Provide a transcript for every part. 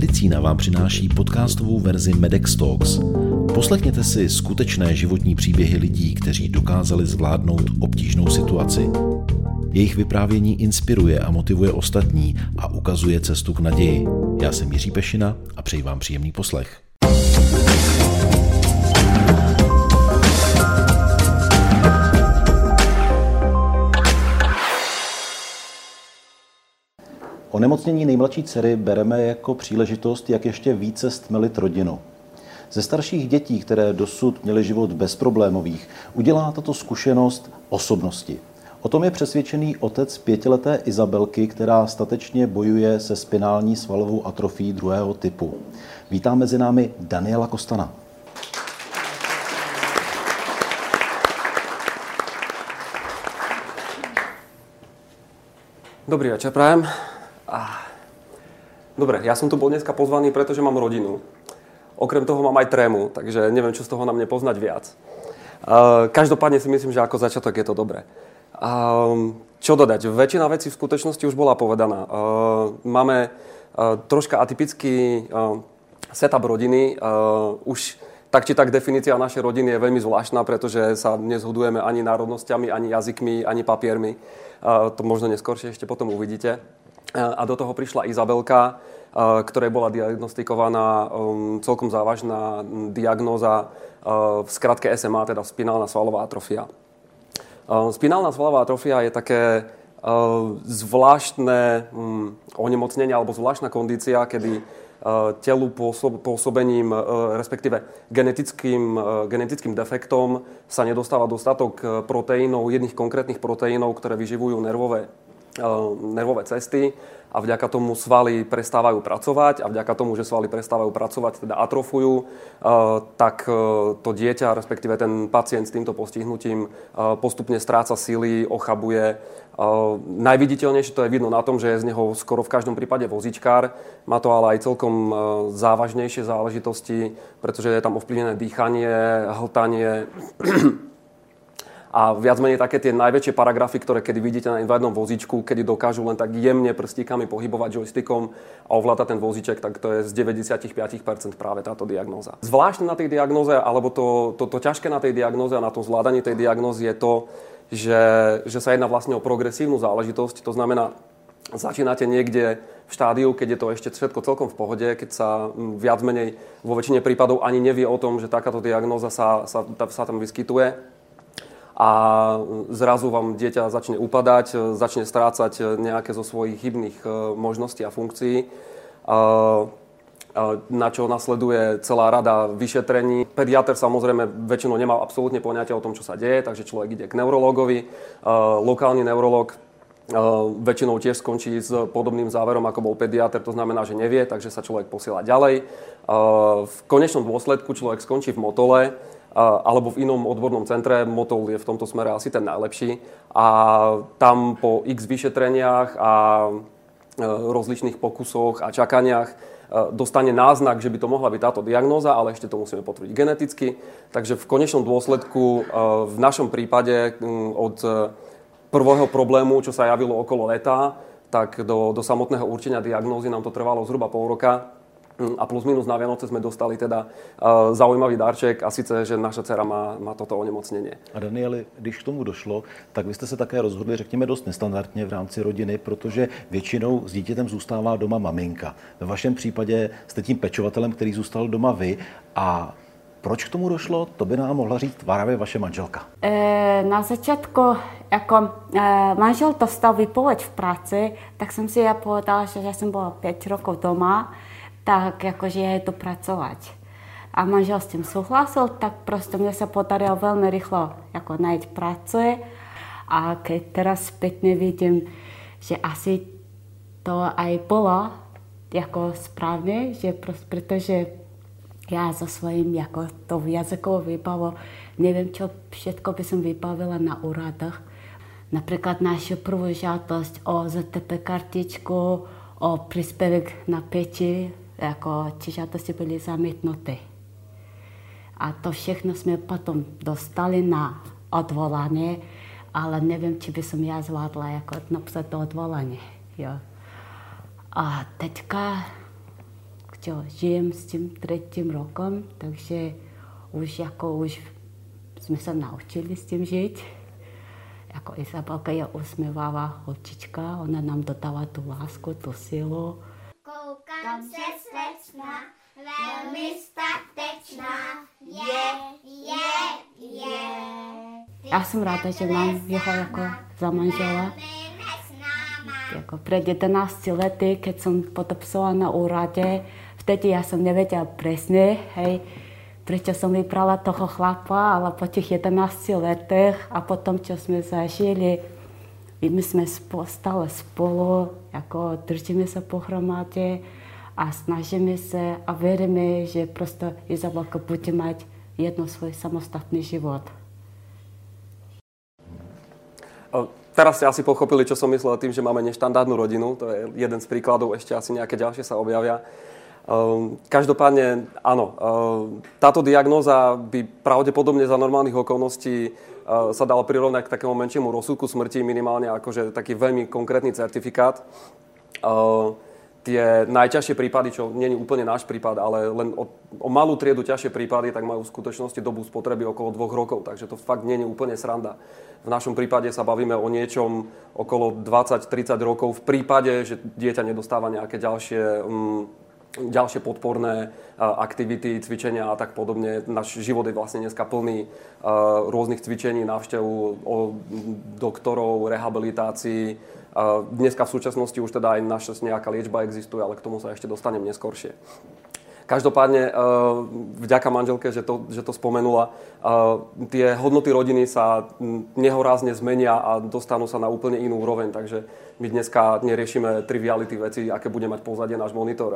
Medicína vám přináší podcastovou verzi Medex Talks. Poslechněte si skutečné životní příběhy lidí, kteří dokázali zvládnout obtížnou situaci. Jejich vyprávění inspiruje a motivuje ostatní a ukazuje cestu k naději. Já jsem Jiří Pešina a přeji vám příjemný poslech. Onemocnění nejmladší dcery bereme jako příležitost, jak ještě více stmelit rodinu. Ze starších dětí, které dosud měly život bezproblémových, udělá tato zkušenost osobnosti. O tom je přesvědčený otec 5leté Izabelky, která statečně bojuje se spinální svalovou atrofií 2. typu. Vítám mezi námi Daniela Kostana. Dobrý večer, prajem. Dobre, ja som tu bol dneska pozvaný, pretože mám rodinu. Okrem toho mám aj trému, takže neviem, čo z toho na mne poznať viac. Každopádne si myslím, že ako začiatok je to dobré. Čo dodať? Väčšina vecí v skutočnosti už bola povedaná. Máme troška atypický setup rodiny. Už tak či tak definícia našej rodiny je veľmi zvláštna, pretože sa nezhodujeme ani národnosťami, ani jazykmi, ani papiermi. To možno neskôršie ešte potom uvidíte. A do toho prišla Izabelka, ktorej bola diagnostikovaná celkom závažná diagnóza v skratke SMA, teda spinálna svalová atrofia. Spinálna svalová atrofia je také zvláštne onemocnenie alebo zvláštna kondícia, kedy telu pôsobením, respektíve genetickým defektom sa nedostáva dostatok proteínov, jedných konkrétnych proteínov, ktoré vyživujú nervové cesty a vďaka tomu svaly prestávajú pracovať a vďaka tomu, že svaly prestávajú pracovať, teda atrofujú, tak to dieťa, respektíve ten pacient s týmto postihnutím postupne stráca sily, ochabuje. Najviditeľnejšie to je vidno na tom, že je z neho skoro v každom prípade vozíčkár. Má to ale aj celkom závažnejšie záležitosti, pretože je tam ovplyvnené dýchanie, hltanie. A viac menej také tie najväčšie paragrafy, ktoré kedy vidíte na invalidnom vozíčku, kedy dokážu len tak jemne prstíkami pohybovať joystickom a ovláda ten vozíček, tak to je z 95% práve táto diagnóza. Zvláštne na tej diagnóze, alebo to ťažké na tej diagnóze a na tom zvládaní tej diagnózy je to, že sa jedná vlastne o progresívnu záležitosť. To znamená, začínate niekde v štádiu, keď je to ešte všetko celkom v pohode, keď sa viac menej vo väčšine prípadov ani nevie o tom, že takáto diagnóza sa tam vyskytuje. A zrazu vám dieťa začne upadať, začne strácať nejaké zo svojich chybných možností a funkcií, na čo nasleduje celá rada vyšetrení. Pediater samozrejme väčšinou nemá absolútne poňatie o tom, čo sa deje, takže človek ide k neurologovi. Lokálny neurolog väčšinou tiež skončí s podobným záverom, ako bol pediater, to znamená, že nevie, takže sa človek posiela ďalej. V konečnom dôsledku človek skončí v Motole, alebo v inom odbornom centre. Motol je v tomto smere asi ten najlepší. A tam po x vyšetreniach a rozličných pokusoch a čakaniach dostane náznak, že by to mohla byť táto diagnóza, ale ešte to musíme potvrdiť geneticky. Takže v konečnom dôsledku v našom prípade od prvého problému, čo sa javilo okolo leta, tak do samotného určenia diagnózy nám to trvalo zhruba pol roka. A plus minus na Vianoce sme dostali teda zaujímavý darček a sice, že naša dcera má toto onemocnění. A Danieli, když k tomu došlo, tak vy jste se také rozhodli, řekněme, dost nestandardně v rámci rodiny, protože většinou s dítětem zůstává doma maminka. Ve vašem případě jste tím pečovatelem, který zůstal doma vy. A proč k tomu došlo, to by nám mohla říct právě vaše manželka. Na začátku, jako manžel dostal výpověď v práci, tak jsem si já povedala, že já jsem byla 5 rokov doma, tak jakože je to pracovat. A manžel s tím souhlasil, tak prostě mě se podarilo velmi rychle jako najít práci. A keď teraz zpětně vidím, že asi to aj bylo jako správně, že protože já za svým jako to jazykovou výbavu nevím, čo všetko by som vybavila na úradách. Například našu prvú žádost o ZTP kartičku, o příspěvek na péči, jako ti žádosti byly zamítnuty. A to všechno jsme potom dostali na odvolání, ale nevím, či by som já zvládla jako napsat to odvolání. Jo. A teďka, žijem s tím 3. rokem, takže už jsme se naučili s tím žít. Jako Izabelka je usměvavá holčička, ona nám dodává tu lásku, tu sílu. Koukám se slečna, velmi statečná, je. Já jsem ráda, že mám jeho jako za manžela. Jako před 11 lety, keď jsem podepsala na úradě, vtedy já jsem nevěděla přesně, proč jsem vybrala toho chlapa, ale po těch 11 letech a potom, co jsme zažili, my jsme stále spolu, jako držíme se pohromadě a snažíme se a věříme, že prostě Izabelka bude mít svůj samostatný život. Teraz ste asi pochopili, čo som myslel tým, že máme neštandardnú rodinu. To je jeden z príkladov, ešte asi nejaké ďalšie sa objavia. Každopádne, áno, táto diagnóza by pravdepodobne za normálnych okolností sa dala prirovnať k takému menšiemu rozsudku smrti, minimálne akože taký veľmi konkrétny certifikát. Tie najťažšie prípady, čo nie je úplne náš prípad, ale len o malú triedu ťažšie prípady, tak majú v skutočnosti dobu spotreby okolo 2 rokov, takže to fakt nie je úplne sranda. V našom prípade sa bavíme o niečom okolo 20-30 rokov v prípade, že dieťa nedostáva nejaké ďalšie podporné aktivity, cvičenia a tak podobne. Náš život je vlastne dneska plný rôznych cvičení, návštev doktorov, rehabilitácií. Dneska v súčasnosti už teda aj naša nejaká liečba existuje, ale k tomu sa ešte dostanem neskôršie. Každopádne, vďaka manželke, že to spomenula, tie hodnoty rodiny sa nehorázne zmenia a dostanú sa na úplne inú úroveň, takže my dneska neriešime triviality veci, aké bude mať pozadie náš monitor.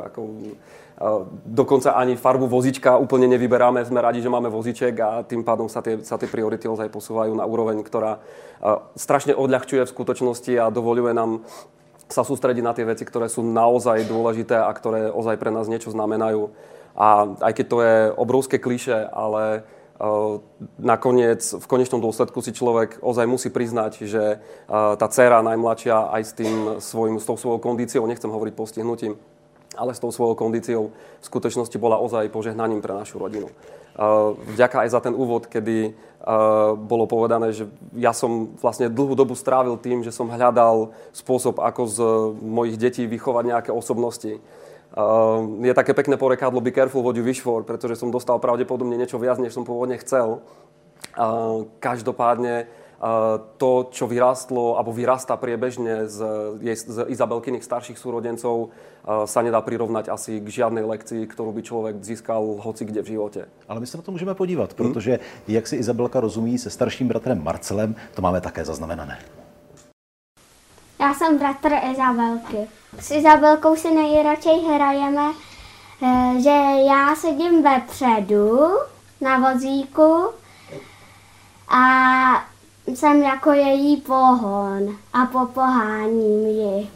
Dokonca ani farbu vozíčka úplne nevyberáme, sme radi, že máme vozíček a tým pádom sa tie priority ozaj posúvajú na úroveň, ktorá strašne odľahčuje v skutočnosti a dovoľuje nám sa sústrediť na tie veci, ktoré sú naozaj dôležité a ktoré ozaj pre nás niečo znamenajú. A aj keď to je obrovské klišé, ale nakoniec, v konečnom dôsledku si človek ozaj musí priznať, že tá dcéra najmladšia aj s tou svojou kondíciou, nechcem hovoriť postihnutím, ale s tou svojou kondíciou v skutočnosti bola ozaj požehnaním pre našu rodinu. Vďaka aj za ten úvod, kedy bolo povedané, že ja som vlastne dlhú dobu strávil tým, že som hľadal spôsob, ako z mojich detí vychovať nejaké osobnosti. Je také pekné porekadlo be careful what you wish for, pretože som dostal pravdepodobne niečo viac, než som pôvodne chcel. Každopádne to, čo vyrástlo alebo vyrastá priebežne z Izabelkyných starších súrodencov, sa nedá prirovnať asi k žiadnej lekcii, ktorú by človek získal hoci kde v živote. Ale my se na to můžeme podívat, protože jak si Izabelka rozumí se starším bratrem Marcelem, to máme také zaznamenané. Já jsem bratr Izabelky. S Izabelkou si nejradšej hrajeme, že já sedím vepředu na vozíku a jsem jako její pohon a popoháním ji.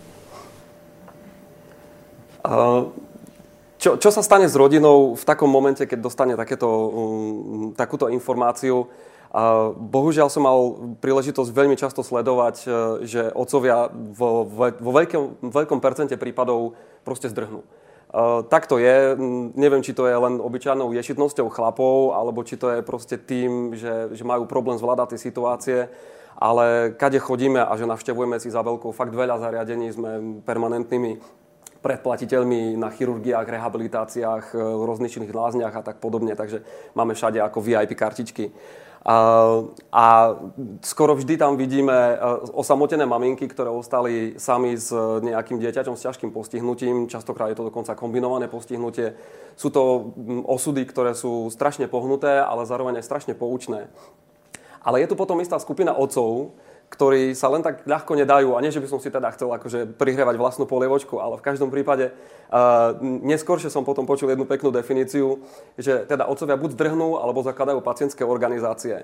Čo sa stane s rodinou v takom momente, keď dostane takúto informáciu? Bohužiaľ som mal príležitosť veľmi často sledovať, že otcovia vo veľkom percente prípadov proste zdrhnú. Tak to je. Neviem, či to je len obyčajnou ješitnosťou chlapov, alebo či to je proste tým, že majú problém zvládať tie situácie. Ale kade chodíme a že navštevujeme s Izabelkou fakt veľa zariadení, sme permanentnými predplatiteľmi na chirurgiách, rehabilitáciách, rozličných lázniach a tak podobne. Takže máme všade ako VIP kartičky. A skoro vždy tam vidíme osamotené maminky, ktoré ostali sami s nejakým dieťaťom s ťažkým postihnutím. Častokrát je to dokonca kombinované postihnutie. Sú to osudy, ktoré sú strašne pohnuté, ale zároveň aj strašne poučné. Ale je tu potom istá skupina otcov, ktorí sa len tak ľahko nedajú. A nie, že by som si teda chcel akože prihrievať vlastnú polievočku, ale v každom prípade neskôršie som potom počul jednu peknú definíciu, že teda otcovia buď zdrhnú, alebo zakladajú pacientské organizácie.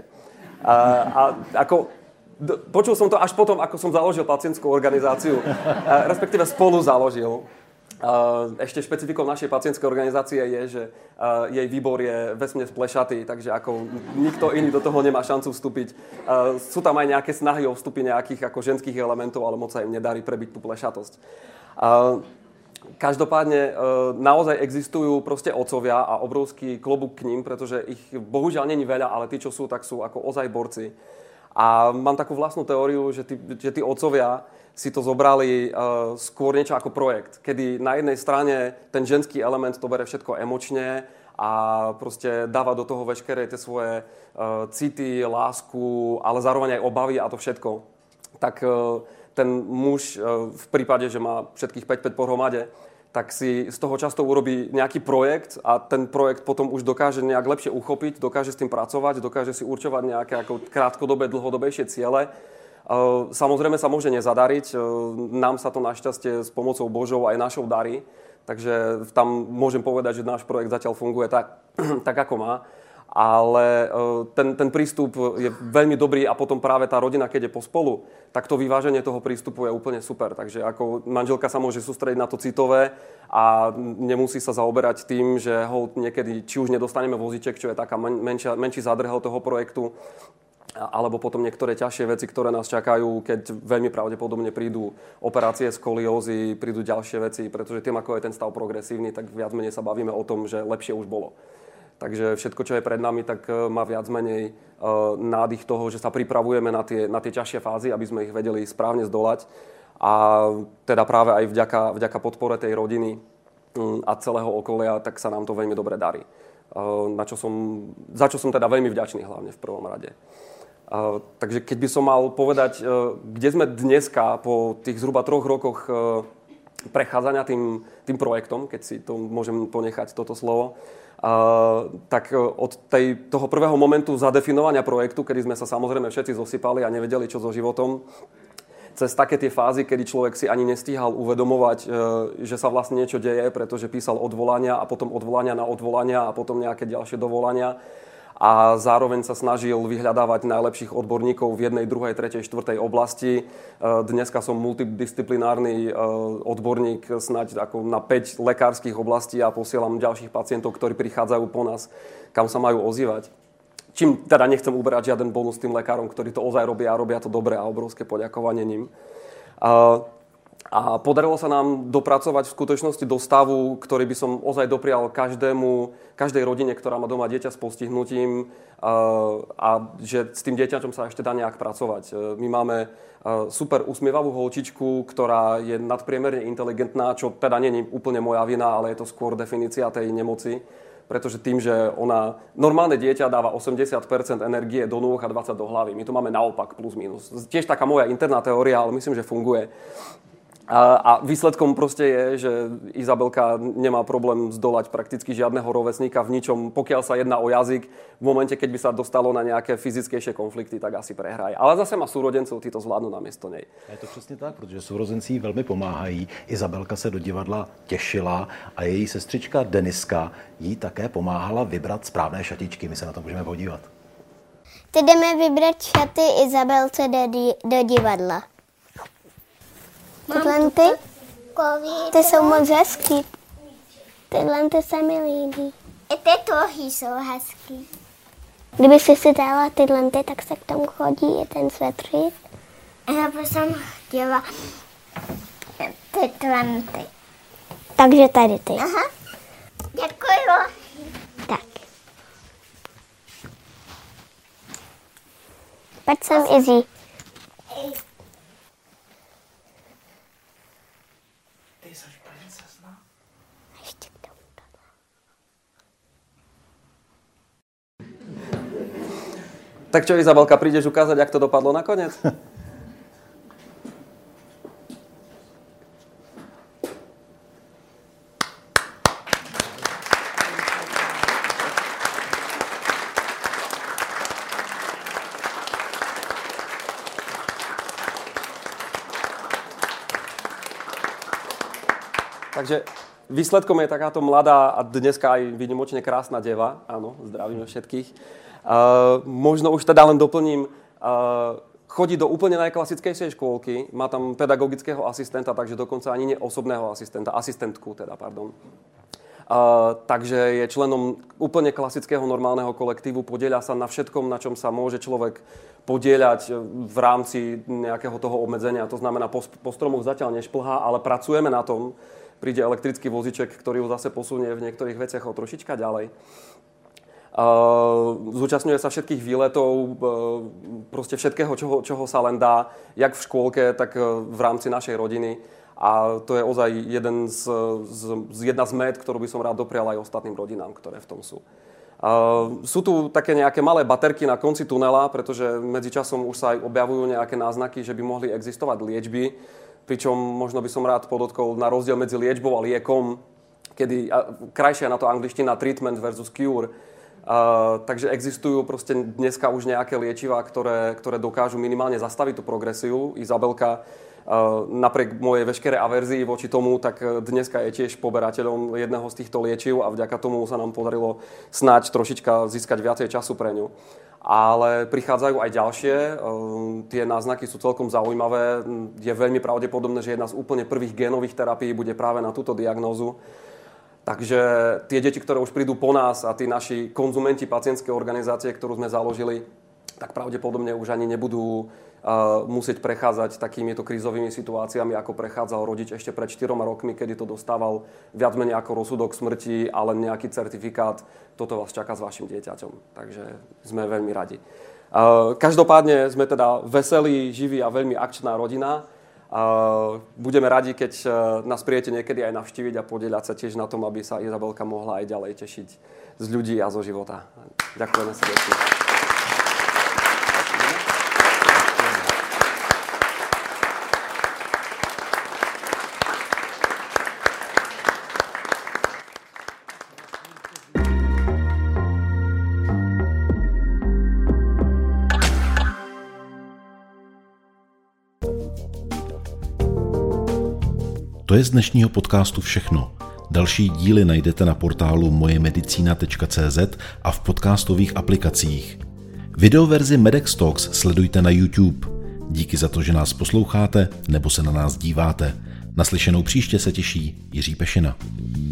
Počul som to až potom, ako som založil pacientskú organizáciu, respektíve spolu založil. Ešte špecifikou našej pacientskej organizácie je, že jej výbor je vesmene splešatý, takže ako nikto iný do toho nemá šancu vstúpiť. Sú tam aj nejaké snahy o vstupy nejakých ako ženských elementov, ale moc sa im nedarí prebiť tú plešatosť. Každopádne naozaj existujú proste otcovia a obrovský klobúk k ním, pretože ich bohužiaľ není veľa, ale tí, čo sú, tak sú ako ozaj borci. A mám takú vlastnú teóriu, že tí otcovia si to zobrali skôr niečo ako projekt, kedy na jednej strane ten ženský element to bere všetko emočne a proste dáva do toho veškeré tie svoje city, lásku, ale zároveň aj obavy a to všetko. Tak ten muž v prípade, že má všetkých 5 pohromade, tak si z toho často urobí nejaký projekt a ten projekt potom už dokáže nejak lepšie uchopiť, dokáže s tým pracovať, dokáže si určovať nejaké ako krátkodobé, dlhodobejšie ciele. Samozrejme sa môže nezadariť, nám sa to našťastie s pomocou Božou aj našou darí, takže tam môžem povedať, že náš projekt zatiaľ funguje tak ako má, ale ten prístup je veľmi dobrý a potom práve tá rodina, keď je pospolu, tak to vyváženie toho prístupu je úplne super, takže ako manželka sa môže sústrediť na to citové a nemusí sa zaoberať tým, že niekedy či už nedostaneme vozíček, čo je taká menší zádrhel toho projektu, alebo potom niektoré ťažšie veci, ktoré nás čakajú, keď veľmi pravdepodobne prídu operácie skoliózy, prídu ďalšie veci, pretože tým, ako je ten stav progresívny, tak viac menej sa bavíme o tom, že lepšie už bolo. Takže všetko, čo je pred nami, tak má viac menej nádych toho, že sa pripravujeme na tie ťažšie fázy, aby sme ich vedeli správne zdolať. A teda práve aj vďaka podpore tej rodiny a celého okolia, tak sa nám to veľmi dobre darí. Za čo som teda veľmi vďačný hlavne v prvom rade. Takže keď by som mal povedať, kde sme dneska po tých zhruba 3 rokoch prechádzania tým projektom, keď si to môžem ponechať toto slovo, tak od toho prvého momentu zadefinovania projektu, kedy sme sa samozrejme všetci zosypali a nevedeli, čo so životom, cez také tie fázy, kedy človek si ani nestíhal uvedomovať, že sa vlastne niečo deje, pretože písal odvolania a potom odvolania na odvolania a potom nejaké ďalšie dovolania. A zároveň sa snažil vyhľadávať najlepších odborníkov v 1., 2., 3., 4. oblasti. Dneska som multidisciplinárny odborník snáď ako na 5 lekárskych oblastí a posielam ďalších pacientov, ktorí prichádzajú po nás, kam sa majú ozývať. Čím teda nechcem uberať žiaden bonus tým lekárom, ktorí to ozaj robia a robia to dobre a obrovské poďakovanie ním. A podarilo sa nám dopracovať v skutočnosti do stavu, ktorý by som ozaj doprial každej rodine, ktorá má doma dieťa s postihnutím a že s tým dieťaťom sa ešte dá nejak pracovať. My máme super usmievavú holčičku, ktorá je nadpriemerne inteligentná, čo teda nie je úplne moja vina, ale je to skôr definícia tej nemoci. Pretože tým, že normálne dieťa dáva 80% energie do nôh a 20% do hlavy. My to máme naopak, plus minus. Tiež taká moja interná teória, ale myslím, že funguje. A výsledkom proste je, že Izabelka nemá problém zdolať prakticky žiadneho rovesníka v ničom, pokiaľ sa jedná o jazyk. V momente, keď by sa dostalo na nejaké fyzickejšie konflikty, tak asi prehraje. Ale zase má súrodencov, tí to zvládnu namiesto nej. Je to přesně tak, protože sourozenci jí velmi pomáhají. Izabelka se do divadla těšila a její sestřička Deniska jí také pomáhala vybrat správné šatičky. My se na to můžeme podívat. Teď jdeme vybrat šaty Izabelce do divadla. Tyhle ty jsou moc hezký. Tyhle se mi líbí. I ty tohy jsou hezký. Kdyby si dala tyhle, tak se k tomu chodí i ten svetřík. Já bych jsem chtěla tyhle. Takže tady ty. Aha. Děkuju. Tak. Pojď sem, Izzy. Tak čo, Izabelka, prídeš ukázať, jak to dopadlo nakoniec? Takže výsledkom je takáto mladá a dneska aj výnimočne krásna deva. Áno, zdravíme všetkých. Možno už teda len doplním, chodí do úplne najklasickejšej škôlky, má tam pedagogického asistenta, takže dokonca ani nie osobného asistenta, asistentku teda, pardon. Takže je členom úplne klasického normálneho kolektívu, podieľa sa na všetkom, na čom sa môže človek podieľať v rámci nejakého toho obmedzenia. To znamená, po stromoch zatiaľ nešplhá, ale pracujeme na tom, príde elektrický vozíček, ktorý ju zase posunie v niektorých veciach o trošička ďalej. Zúčastňuje sa všetkých výletov, proste všetkého, čoho sa len dá, jak v škôlke, tak v rámci našej rodiny. A to je ozaj jedna z mét, ktorú by som rád doprial aj ostatným rodinám, ktoré v tom sú. Sú tu také nejaké malé baterky na konci tunela, pretože medzičasom už sa aj objavujú nejaké náznaky, že by mohli existovať liečby, pričom možno by som rád podotkol na rozdiel medzi liečbou a liekom, kedy krajšia na to angličtina treatment versus cure. Takže existujú proste dneska už nejaké liečivá, ktoré dokážu minimálne zastaviť tú progresiu. Izabelka, napriek mojej veškeré averzii voči tomu, tak dneska je tiež poberateľom jedného z týchto liečiv a vďaka tomu sa nám podarilo snáď trošička získať viacej času pre ňu. Ale prichádzajú aj ďalšie, tie náznaky sú celkom zaujímavé. Je veľmi pravdepodobné, že jedna z úplne prvých génových terapií bude práve na túto diagnózu. Takže tie deti, ktoré už prídu po nás a tí naši konzumenti pacientskej organizácie, ktorú sme založili, tak pravdepodobne už ani nebudú musieť prechádzať takýmito krízovými situáciami, ako prechádzal rodič ešte pred 4 rokmi, kedy to dostával viac menej ako rozsudok smrti, ale nejaký certifikát. Toto vás čaká s vašim dieťaťom. Takže sme veľmi radi. Každopádne sme teda veselí, živí a veľmi akčná rodina. Budeme radi, keď nás príjete niekedy aj navštíviť a podieľať sa tiež na tom, aby sa Izabelka mohla aj ďalej tešiť z ľudí a zo života. Ďakujeme srdečne. To je z dnešního podcastu všechno. Další díly najdete na portálu mojemedicina.cz a v podcastových aplikacích. Videoverzi Medex Talks sledujte na YouTube. Díky za to, že nás posloucháte nebo se na nás díváte. Naslyšenou příště se těší Jiří Pešina.